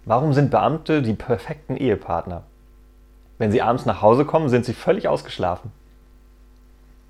Warum sind Beamte die perfekten Ehepartner? Wenn sie abends nach Hause kommen, sind sie völlig ausgeschlafen.